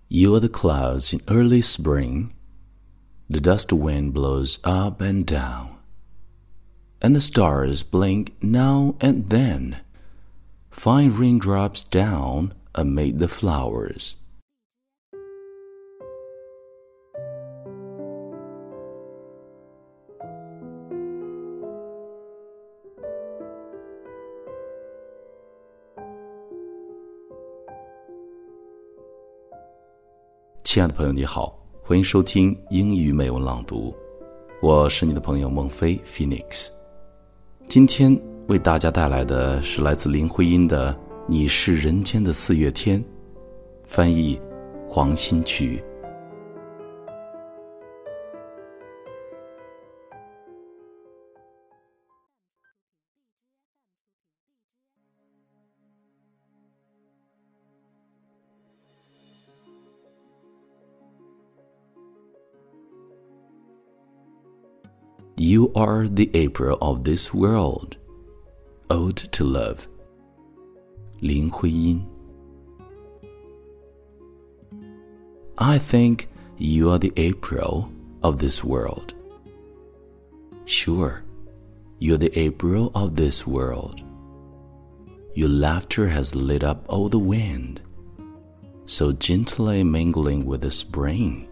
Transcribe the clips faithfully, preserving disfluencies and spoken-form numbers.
You are the clouds in early spring. The dust wind blows up and down, and the stars blink now and then. Fine raindrops down amid the flowers. 亲爱的朋友你好，欢迎收听英语美文朗读，我是你的朋友孟非 Phoenix。 今天为大家带来的是来自林徽因的《你是人间的四月天》，翻译黄新曲。You are the April of this world. Ode to Love. 林徽因。 I think you are the April of this world. Sure, you're the April of this world. Your laughter has lit up all the wind, so gently mingling with the spring.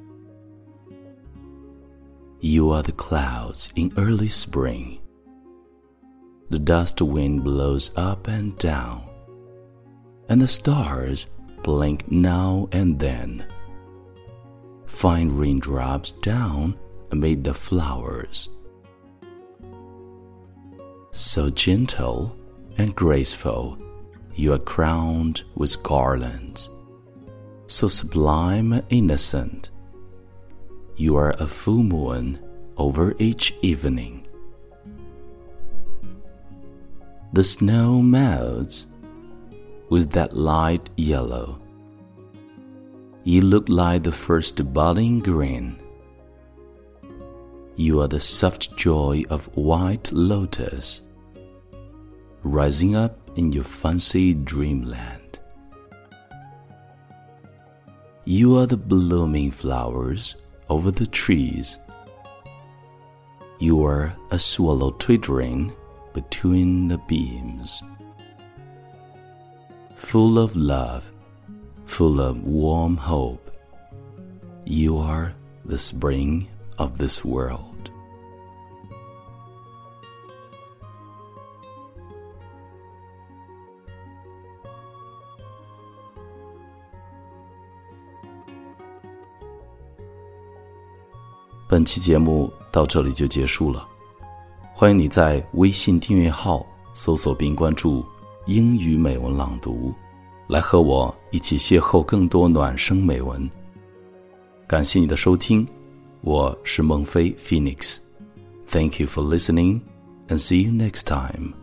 You are the clouds in early spring. The dust wind blows up and down, and the stars blink now and then. Fine raindrops down amid the flowers. So gentle and graceful, you are crowned with garlands. So sublime and innocent, you are a full moon over each evening. The snow melts with that light yellow. You look like the first budding green. You are the soft joy of white lotus, rising up in your fancy dreamland. You are the blooming flowers over the trees. You are a swallow twittering between the beams. Full of love, full of warm hope, you are the spring of this world. 本期节目到这里就结束了，欢迎你在微信订阅号搜索并关注英语美文朗读，来和我一起邂逅更多暖声美文。感谢你的收听，我是孟非 Phoenix。 Thank you for listening and see you next time.